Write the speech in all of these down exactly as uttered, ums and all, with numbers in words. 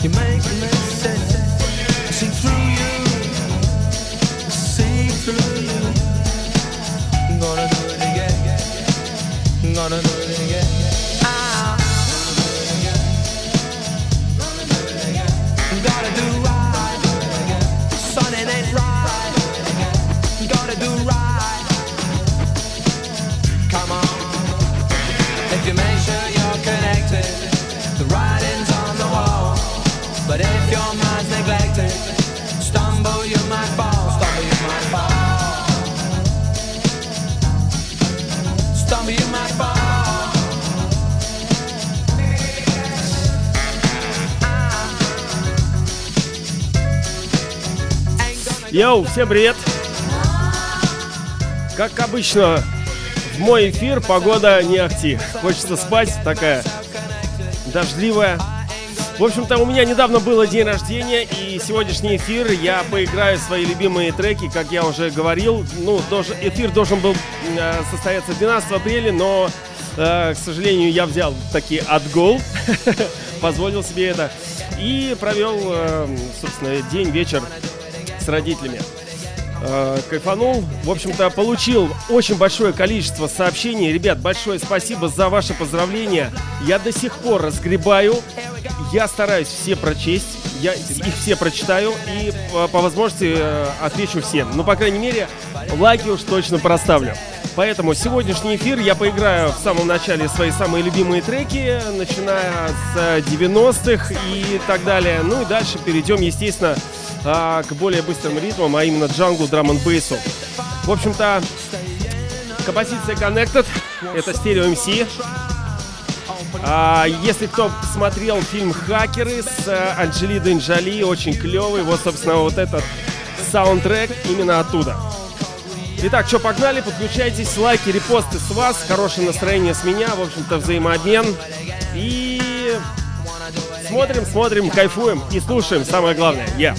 You make me sick. See through you, see through you. I'm gonna do it again. I'm gonna do it again. Ah. Gotta do right. Son, it ain't right. Gotta do right. Come on. If you make sure you're connected, the writing's on the wall. But if your mind's neglected, stumble you might fall. Stumble you might fall. Stumble you might fall. Йоу, всем привет! Как обычно, в мой эфир погода не ахти. Хочется спать, такая дождливая. В общем-то, у меня недавно было день рождения, и сегодняшний эфир я поиграю свои любимые треки, как я уже говорил. Ну, должен, эфир должен был э, состояться двенадцатого апреля, но, э, к сожалению, я взял таки отгул, позволил себе это, и провел, э, собственно, день, вечер с родителями. Э, кайфанул. В общем-то, получил очень большое количество сообщений. Ребят, большое спасибо за ваши поздравления. Я до сих пор разгребаю. Я стараюсь все прочесть. Я их все прочитаю и по, по возможности э, отвечу всем. Ну, по крайней мере, лайки уж точно проставлю. Поэтому сегодняшний эфир я поиграю в самом начале свои самые любимые треки, начиная с девяностых и так далее. Ну и дальше перейдем, естественно, к более быстрым ритмам, а именно джанглу, драм-н-бейсу. В общем-то, композиция Connected, это Stereo эм си. А, если кто смотрел фильм «Хакеры» с Анджелиной Джоли, очень клевый, вот, собственно, вот этот саундтрек именно оттуда. Итак, что, погнали, подключайтесь, лайки, репосты с вас, хорошее настроение с меня, в общем-то, взаимообмен. И смотрим, смотрим, кайфуем и слушаем, самое главное. Yeah.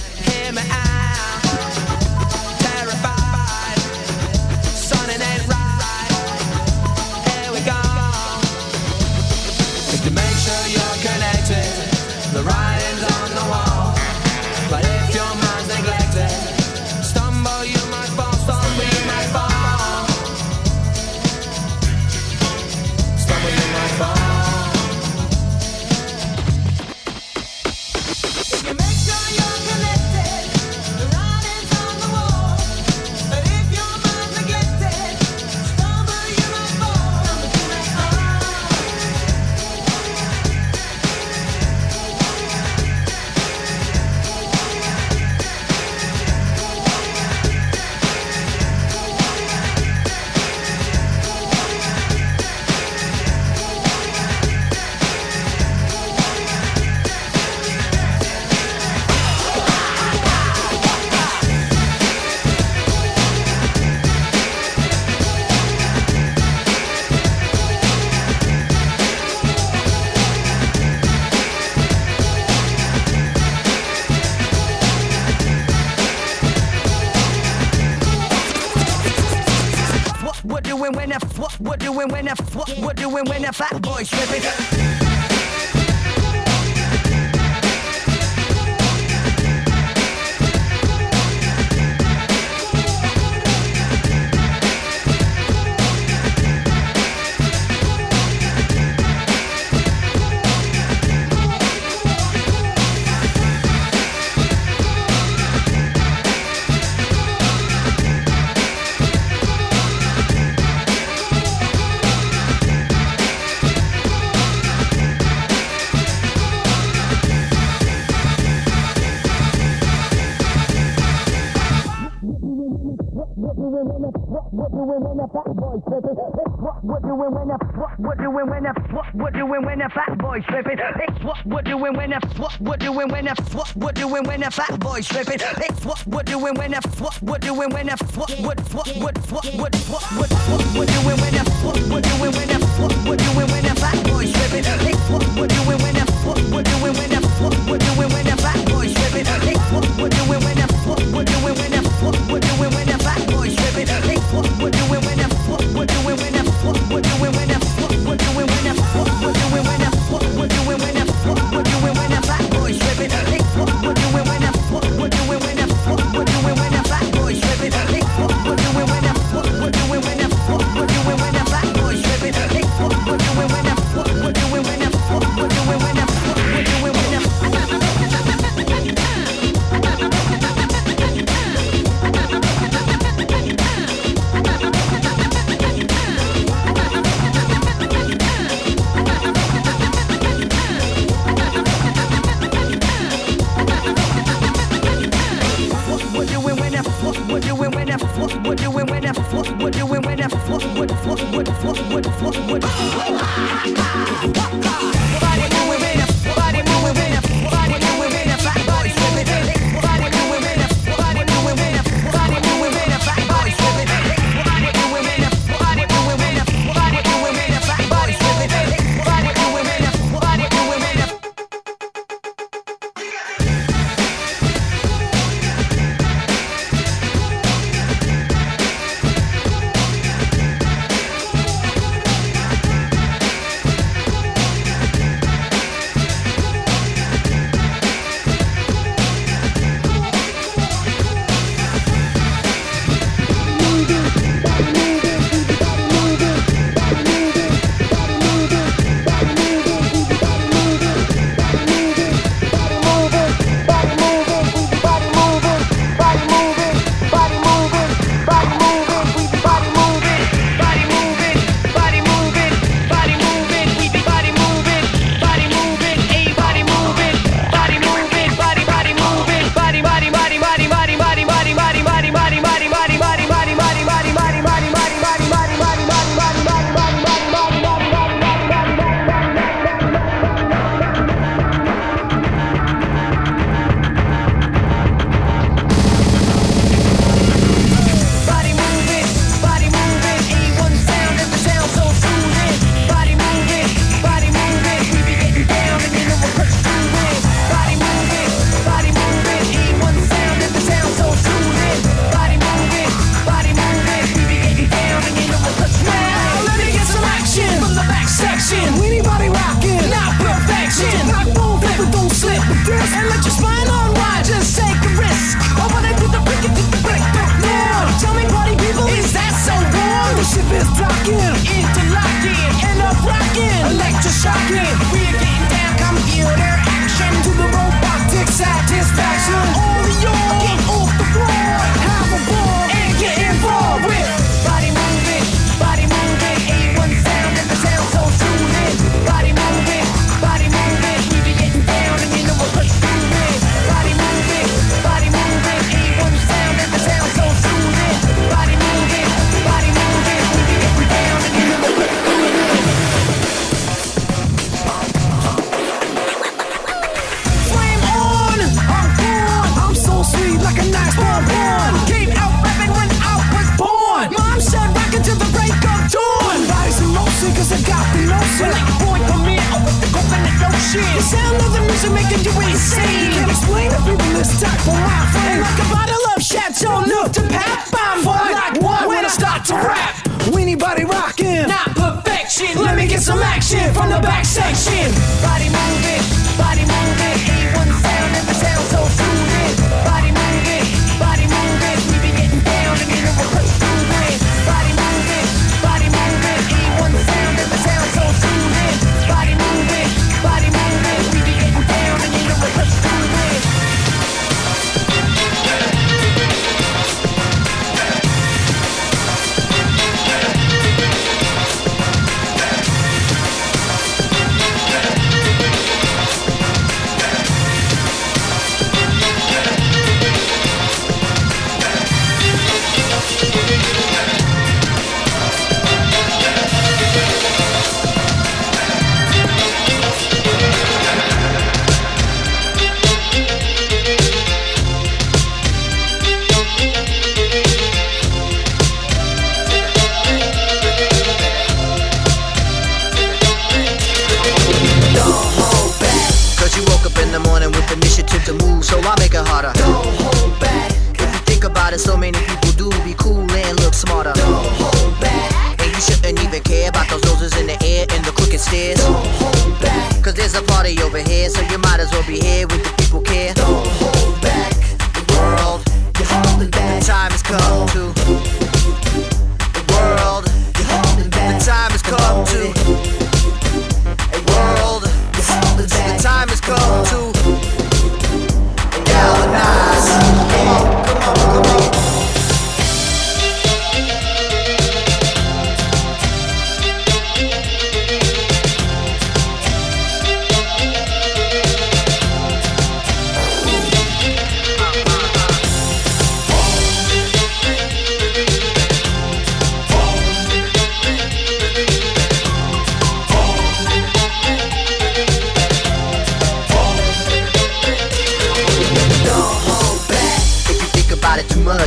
What we're doing when the what we're doing when the fat boys tripping. Fat boys tripping. It's what we're doing when the what we're doing when the what we're doing when the fat boys tripping. It's what we're doing when the what we're doing when the what what what what what what what what we're doing when the what we're doing when the what we're doing when the fat boys tripping. It's what we're doing when the what we're doing when the what we're doing when the fat boys tripping. It's what we're doing when the what we're doing when the what we're doing when the fat boys tripping. It's what we're doing when the what we're doing when the what we're doing when the what we're doing when the what we're doing when the what we're doing when the what we're doing when the fat boys tripping.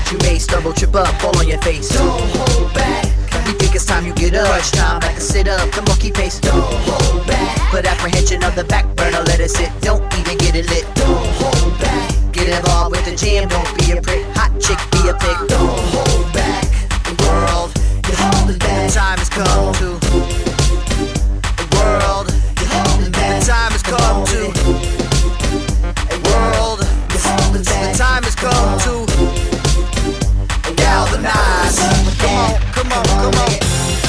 You may stumble, trip up, fall on your face. Don't hold back. You think it's time you get up. Crunch time, back and sit up, the monkey pace. Don't hold back. Put apprehension on the back burner, let it sit. Don't even get it lit. Don't hold back. Get involved with the jam, don't be a prick. Hot chick, be a pig. Don't hold back. The world, you're holding back. The time has come to. The world, you're holding back. The time has come to. A world, you're holding back. The time has come to. Galvanize. Come on, come on, come on.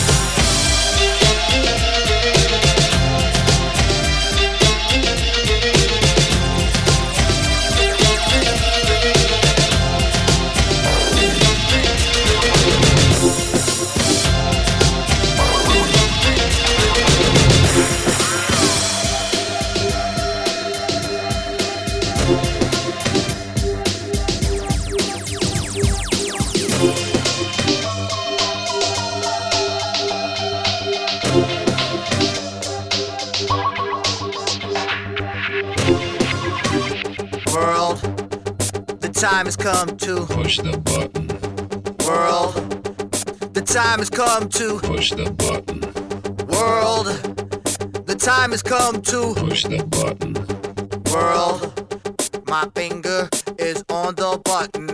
Time has come to push the button. World, the time has come to push the button. World, the time has come to push the button. World, my finger is on the button.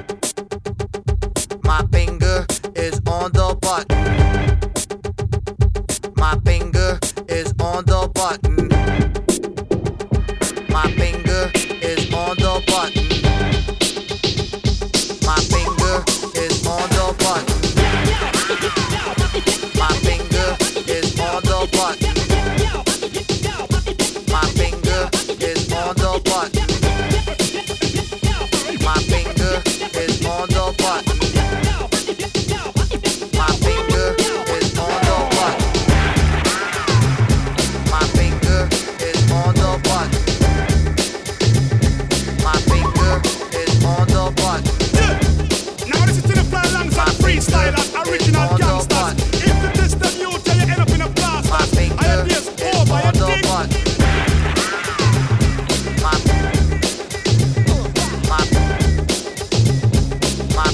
My finger is on the button. My finger is on the button. My finger is on the button. My finger is on the button. My finger is on the button. My finger is on the button. My finger is on the button. My finger is on the button. My finger is on the button. My finger is on the button. Freestylers, original gangsters. If you test them, you tell you end up in a blast. I am this over by a dick. My, my, my, my,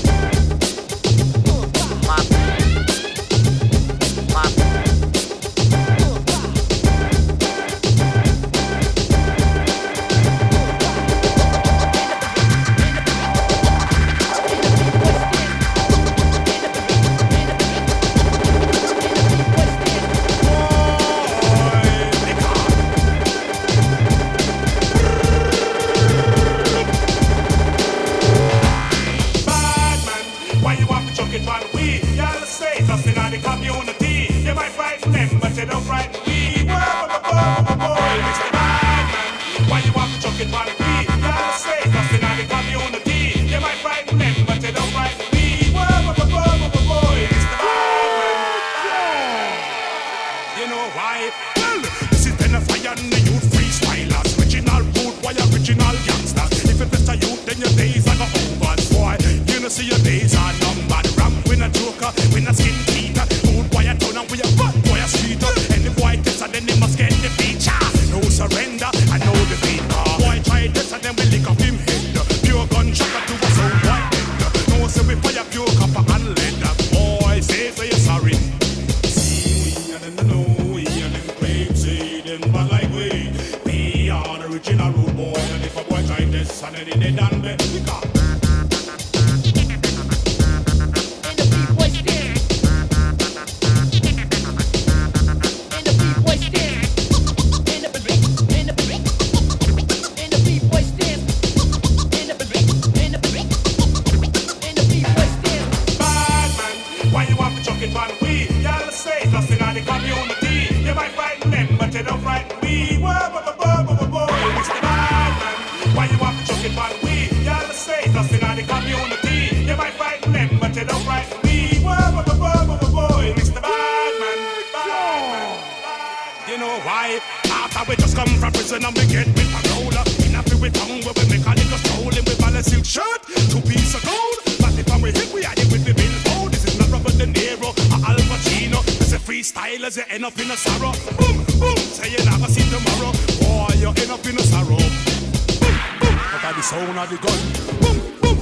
Freestylers, you end up in a sorrow. Boom, boom, say you never see tomorrow. Boy, you end up in a sorrow. Boom, boom, but at the sound of the gun. Boom, boom.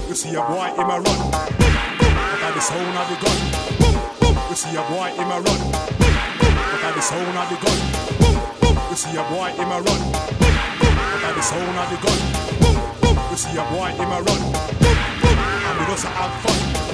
You see a boy in a run. Look at the sound of the gun. You see a boy in a run. Look at the sound of the gun. You see a boy in a run. Look at the sound of the gun. You see a boy in a run. And we just have fun.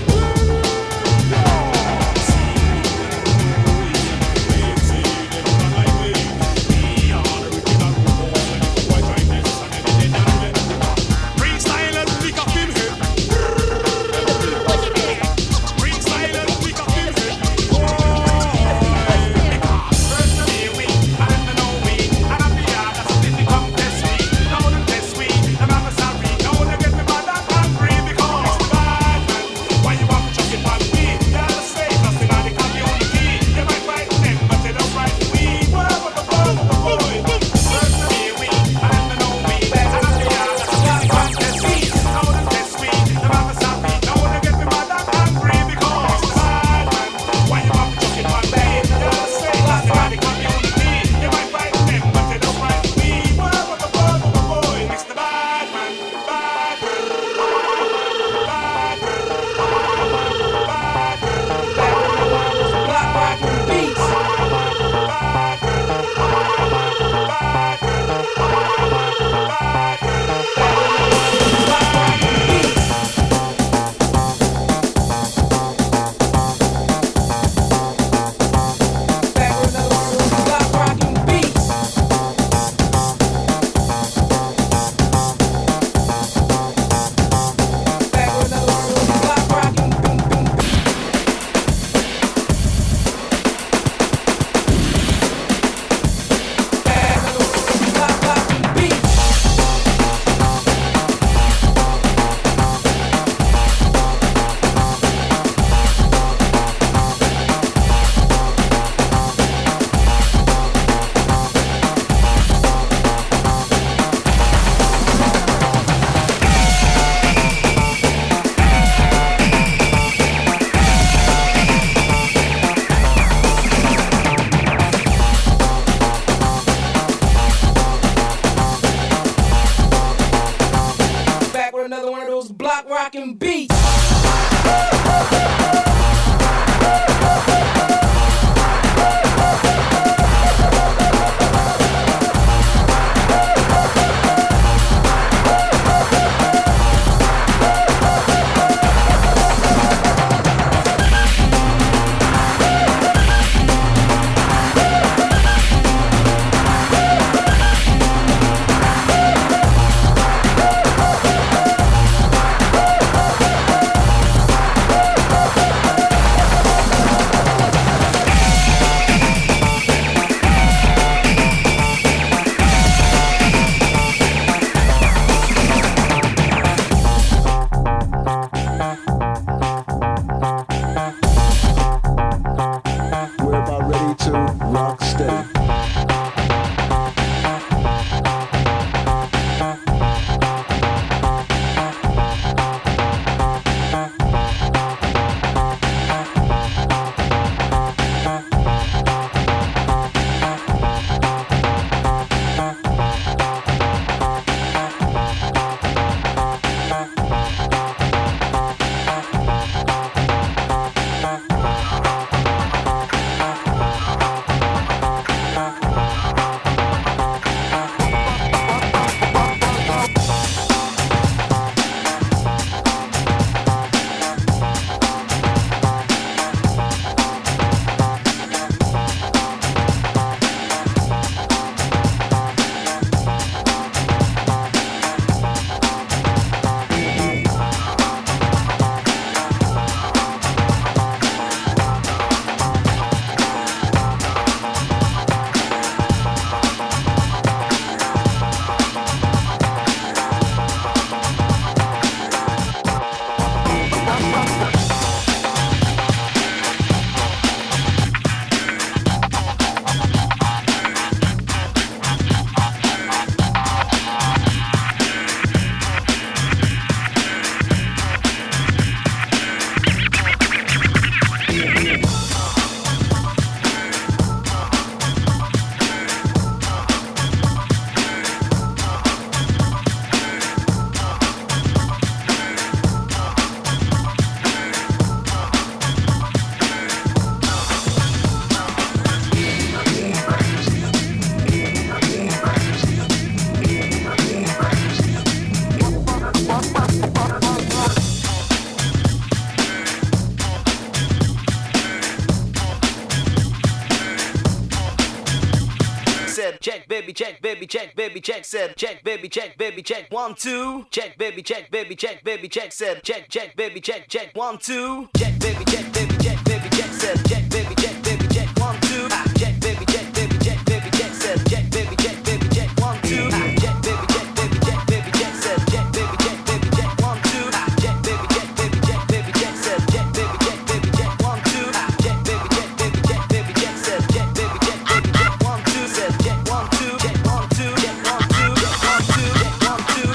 baby, check, baby, check, baby, check, said, check, baby, check, baby, check, one, two, check, baby, check, baby, check, baby, check, said, check, check, baby, check, check, one, two, check, baby, check, baby, check, baby, check, said, check, baby, check, baby, check, one, two, check, baby, check, baby, check, baby, check, said, check, baby, check, baby, check, one, two, check, baby, check, baby, check, baby, check, said, check, baby, check, baby, check, one, two, check, baby, check, baby, check, baby, check, said, check, baby, check, baby, check, one, two, check, baby, check, baby, check, baby, check, said, check, baby, check, baby, check, one, two, said, check, one, two, check, one, two, check, one, two, check, one, two, check, one, two.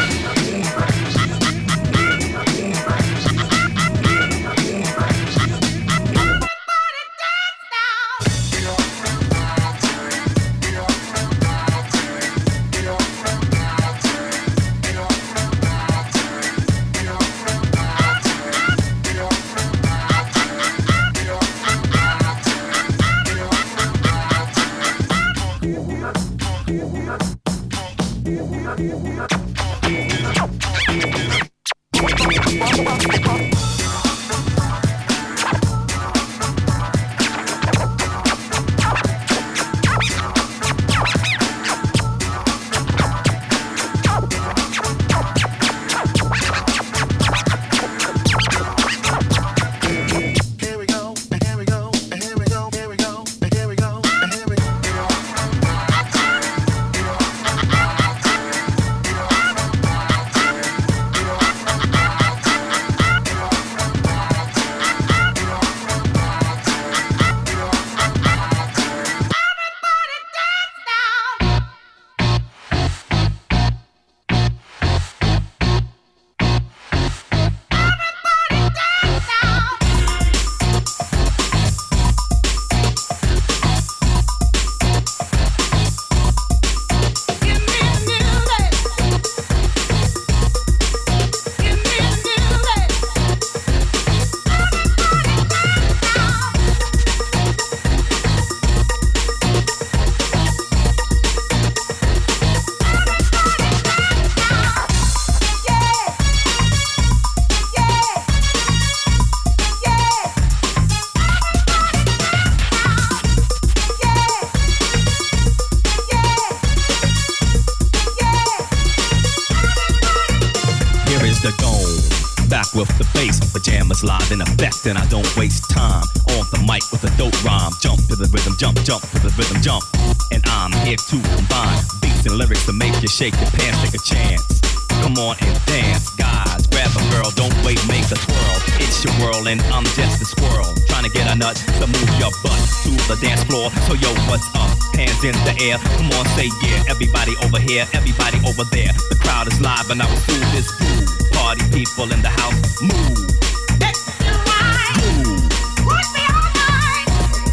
With the bass, pajamas live in effect, and I don't waste time on the mic with a dope rhyme. Jump to the rhythm, jump, jump to the rhythm, jump. And I'm here to combine beats and lyrics to make you shake your pants, take a chance. Come on and dance, guys. Grab a girl, don't wait, make a twirl. It's your world and I'm just a squirrel, trying to get a nut to move your butt to the dance floor. So yo, what's up? Hands in the air, come on, say yeah. Everybody over here, everybody over there. The crowd is live and I will do this groove. Party people in the house, move. Let's do right. Move. Put me all night.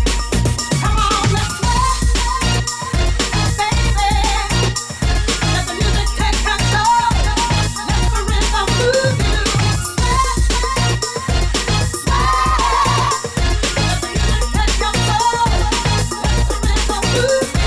Come on, let's rock, baby. Let the music take control. Let the rhythm move you. Sweat, sweat. Let the music take control. Let the rhythm move you.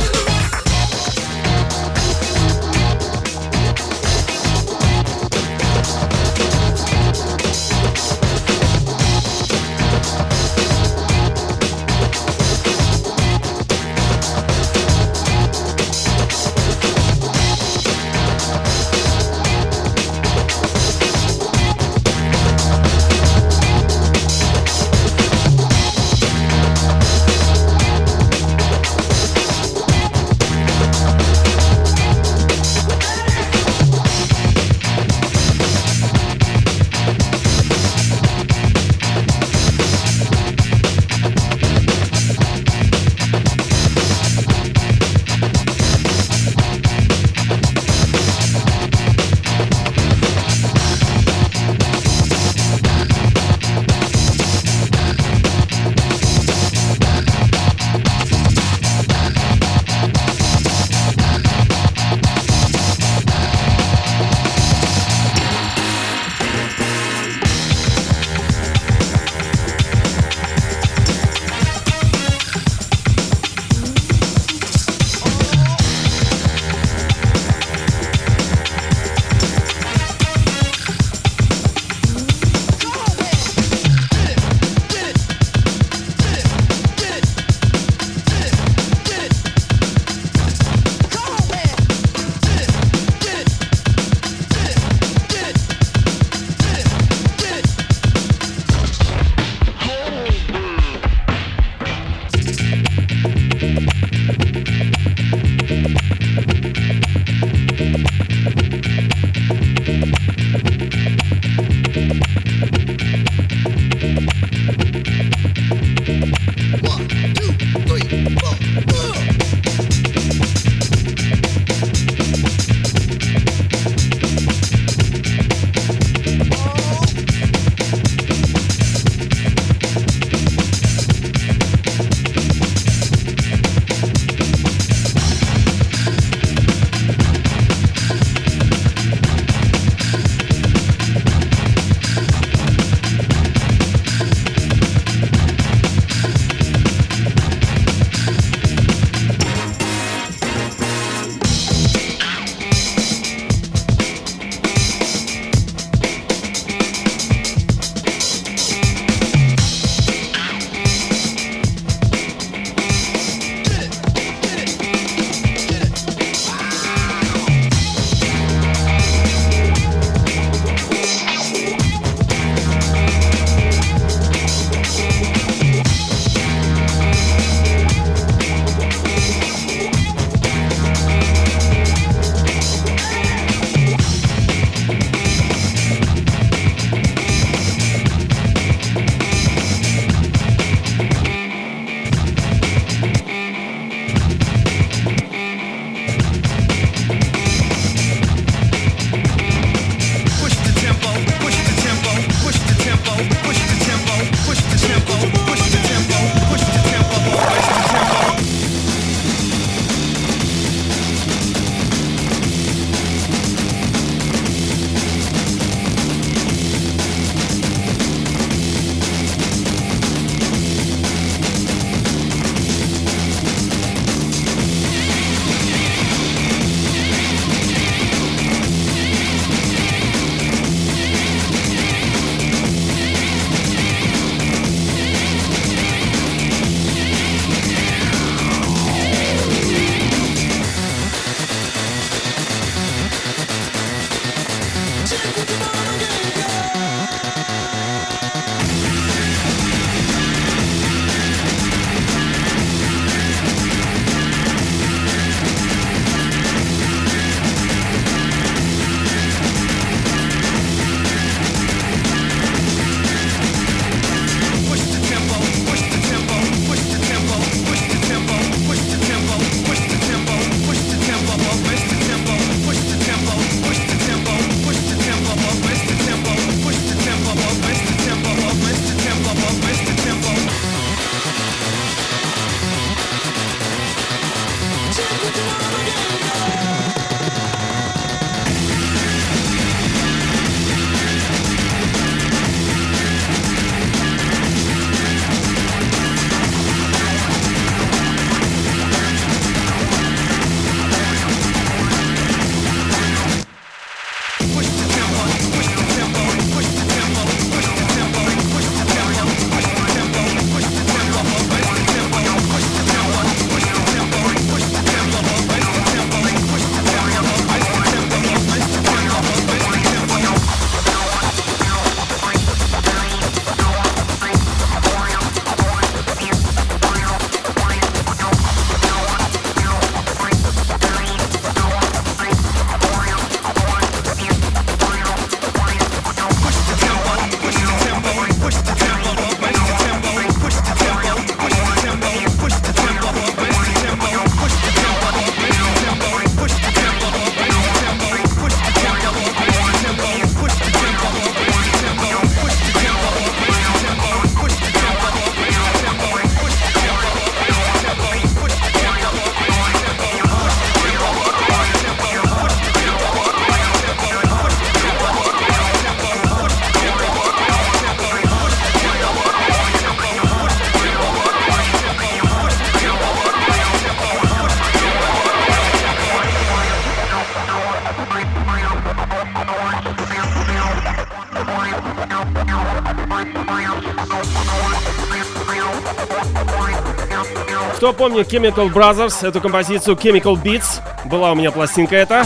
Кто помнит Chemical Brothers, эту композицию Chemical Beats, была у меня пластинка эта.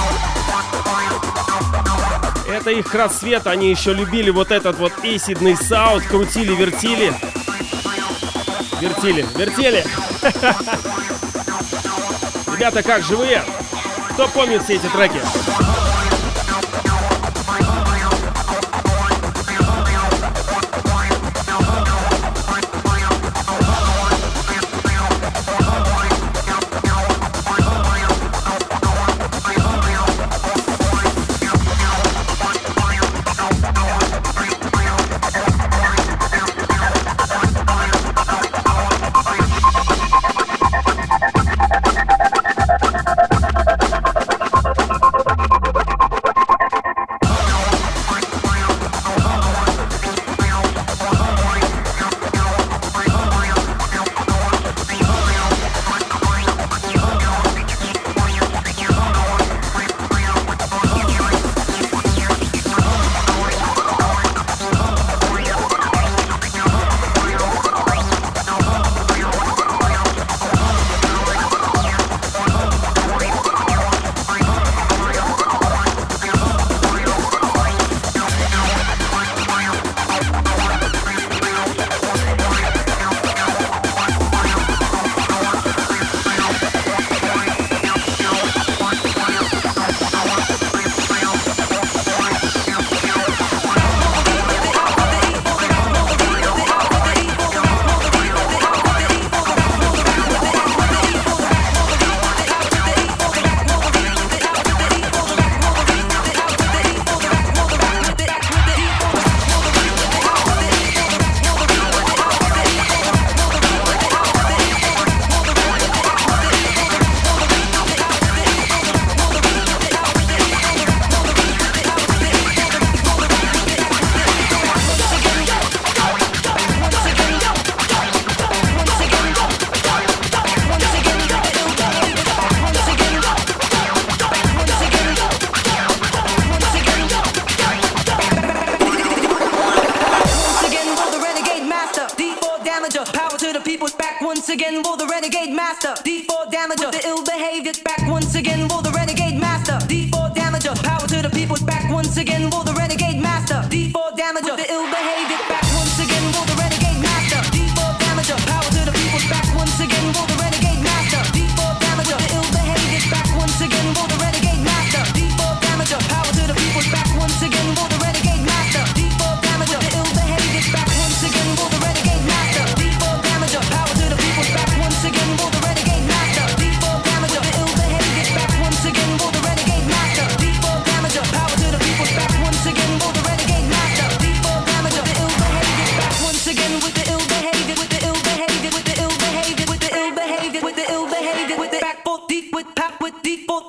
Это их расцвет, они еще любили вот этот вот эйсидный саунд, крутили, вертили. Вертили, вертели. Ребята, как живые? Кто помнит все эти треки? again, will the renegade master. D four damager, the ill behavior. Back once again, will the renegade master. D four damager, power to the people. Back once again, will the renegade master. D four damager, the ill behavior. Back once again, will the renegade master. D four damager, power to the people. Back once again, will the renegade master. D four damager, the ill behavior. Back once again, will the renegade master. D four damager, power to the people. Back once again, will the renegade master. D four damager, the ill behavior. Back once again, will the renegade master. D four damager, power to the people. Back once again, will the renegade master. D four damager, the ill behavior. Back once again, will the renegade master. D four damager, power to the people. Back once again, will the renegade master. D four damager, the ill behavior. Back once again with the ill behavior, with the ill behavior, with the ill behavior, with the ill behavior, with the ill behavior, with the back foot deep with pop with deep foot.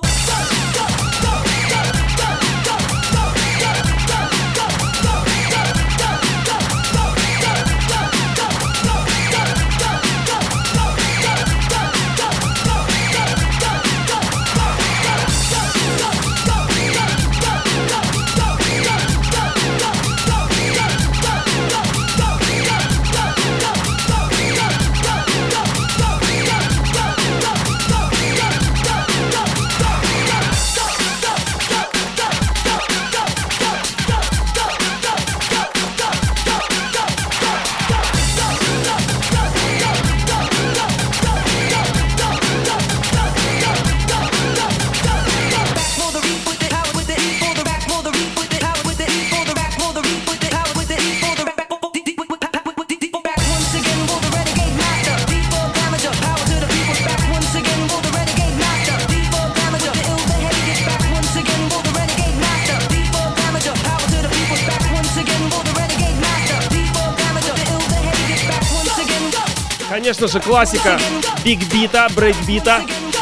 Конечно же, классика биг-бита, брейк-бита.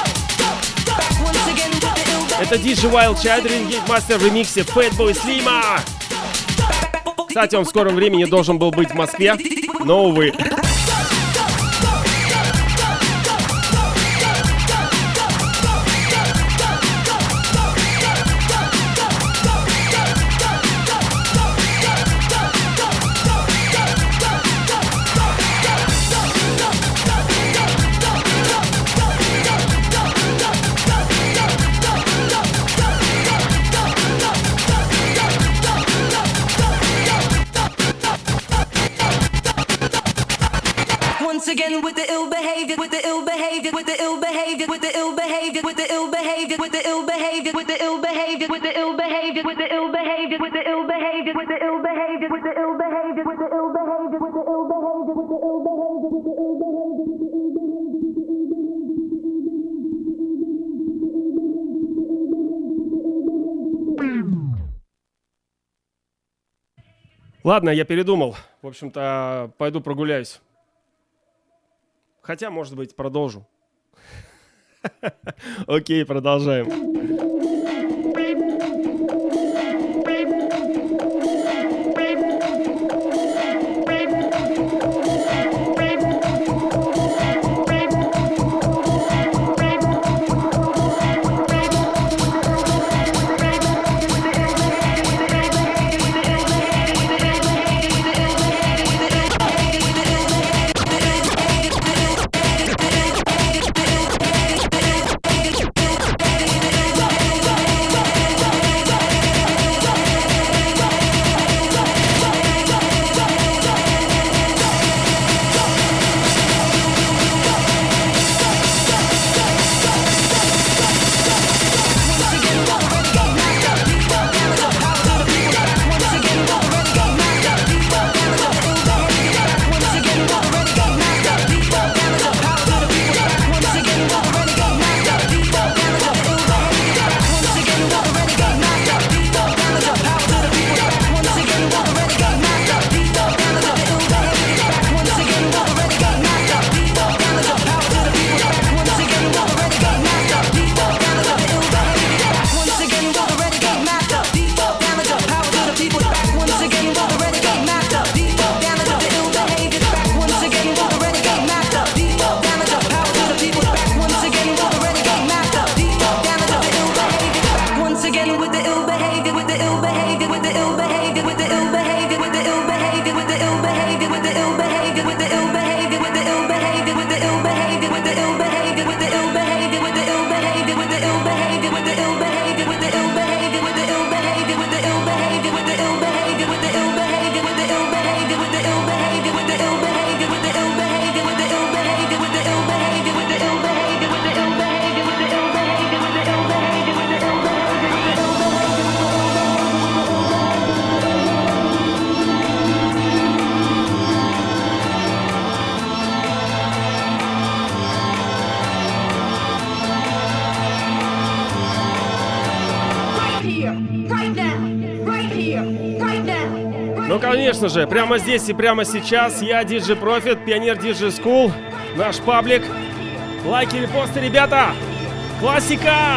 Это ди джей Wild Child Renegade Master в ремиксе Fatboy Slim. Кстати, он в скором времени должен был быть в Москве, но, увы. again with the ill behavior, with the ill behavior, with the ill behavior, with the ill behavior, with the ill behavior, with the ill behavior, with the ill behavior, with the ill behavior, with the ill behavior, with the ill behavior, with the ill behavior, with the ill behavior, with the ill behavior, with the ill behavior, with the ill behavior, with the ill behavior, with the ill behavior. Ладно, я передумал. В общем-то, пойду прогуляюсь. Хотя, может быть, продолжу. Окей, продолжаем. Ну, конечно же, прямо здесь и прямо сейчас я, диджей Profit, Пионер Диджей School, наш паблик. Лайки, репосты, ребята! Классика!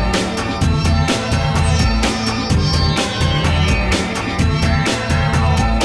We'll be right back.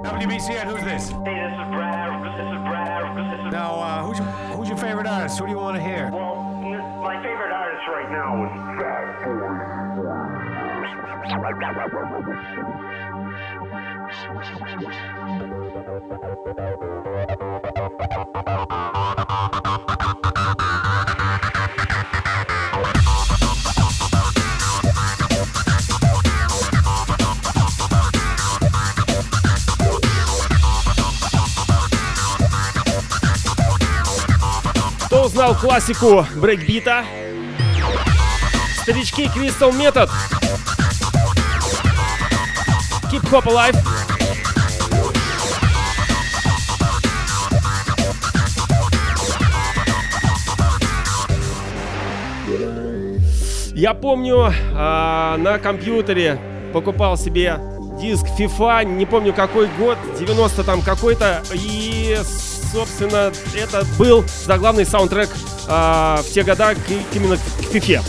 W B C N, who's this? Hey, this is Brad. This is Brad. This is Now, uh, who's your, who's your favorite artist? Who do you want to hear? Well, my favorite artist right now is Fat Кто узнал классику брейкбита? Старички Crystal Method. Keep Hop Alive. Я помню, а, на компьютере покупал себе диск FIFA, не помню какой год, девяносто там какой-то, и, собственно, это был заглавный саундтрек а, в те года к, именно к FIFA.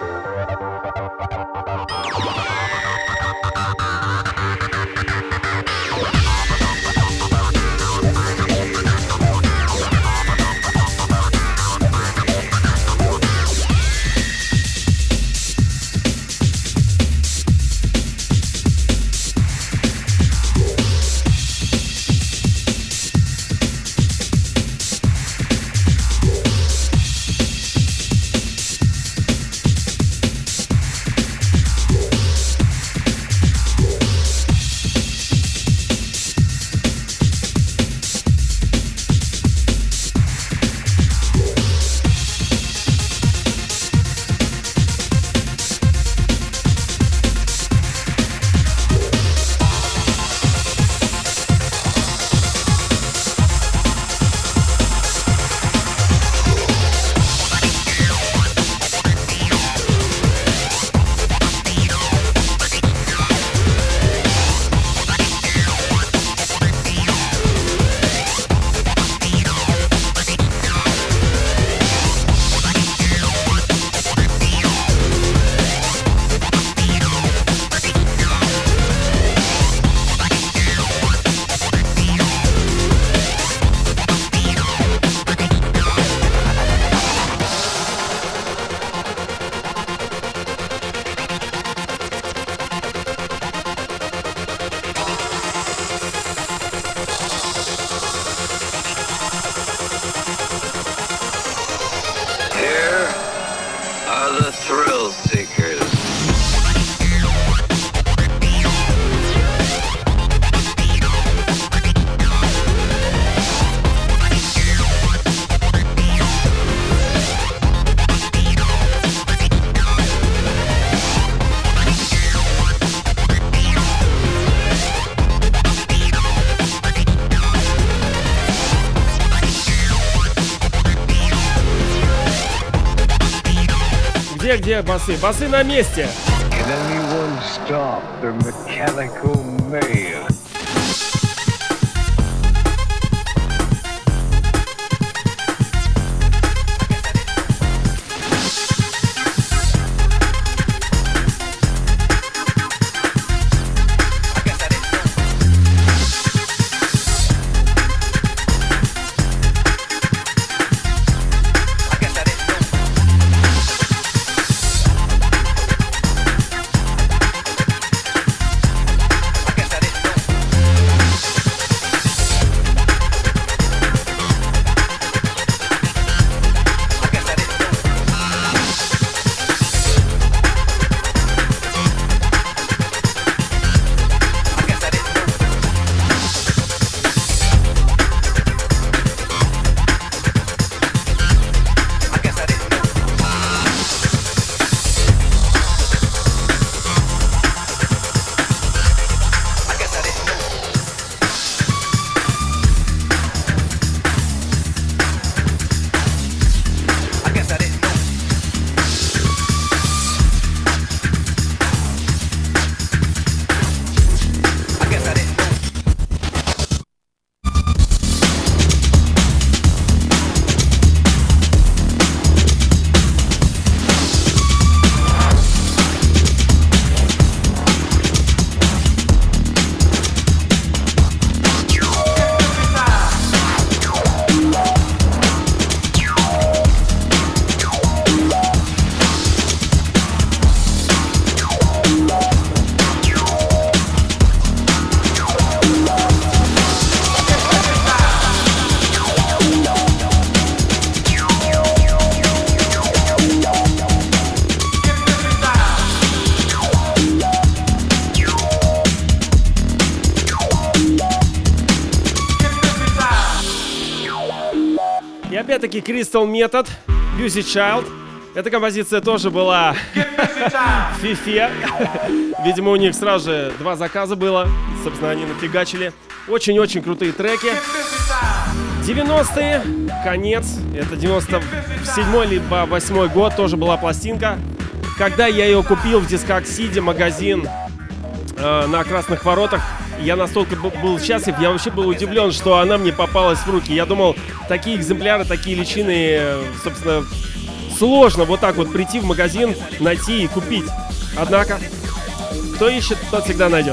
Где, где басы? Басы на месте. Can anyone stop the mechanical mayhem? Опять-таки Crystal Method, Busy Child. Эта композиция тоже была в фифе. Видимо, у них сразу же два заказа было. Собственно, они нафигачили. Очень-очень крутые треки. девяностые, конец. Это девяносто седьмой либо восьмой год. Тоже была пластинка. Когда я ее купил в Discogs магазин э, на Красных Воротах, я настолько был счастлив, я вообще был удивлен, что она мне попалась в руки. Я думал, такие экземпляры, такие личины, собственно, сложно вот так вот прийти в магазин, найти и купить. Однако, кто ищет, тот всегда найдет.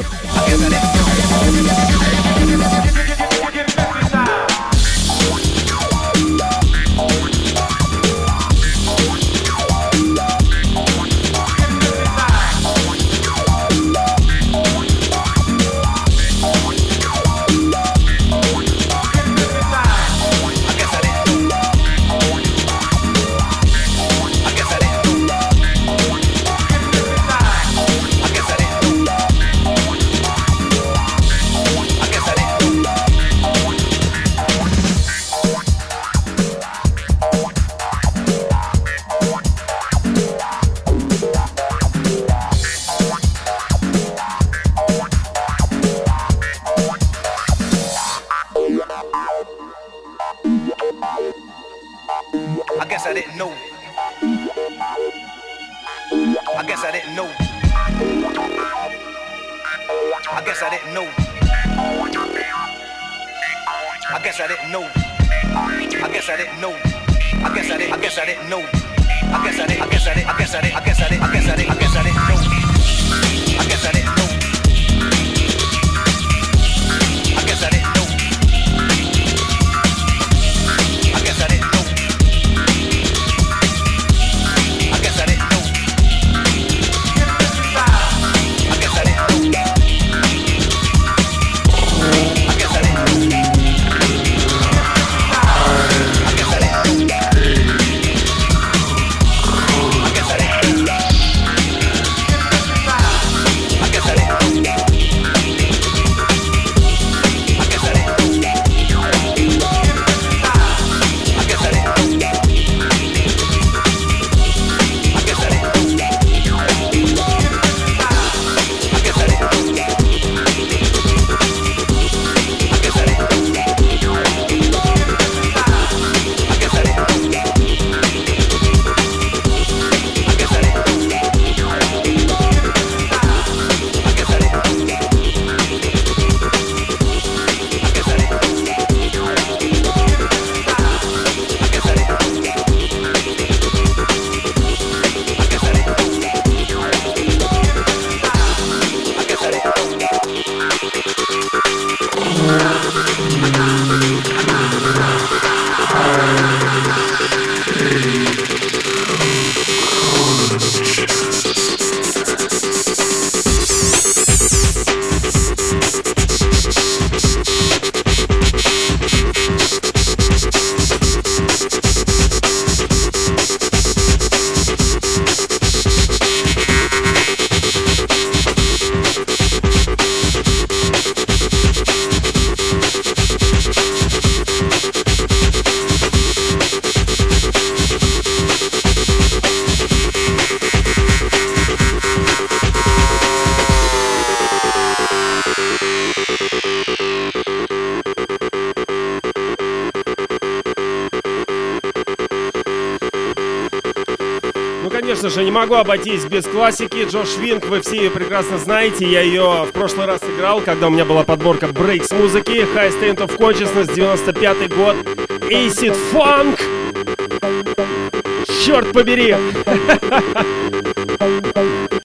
Конечно же, не могу обойтись без классики. Джош Винг, вы все ее прекрасно знаете. Я ее в прошлый раз играл, когда у меня была подборка брейкс музыки. High State of Consciousness, девяносто пятый год. Acid Funk. Черт побери.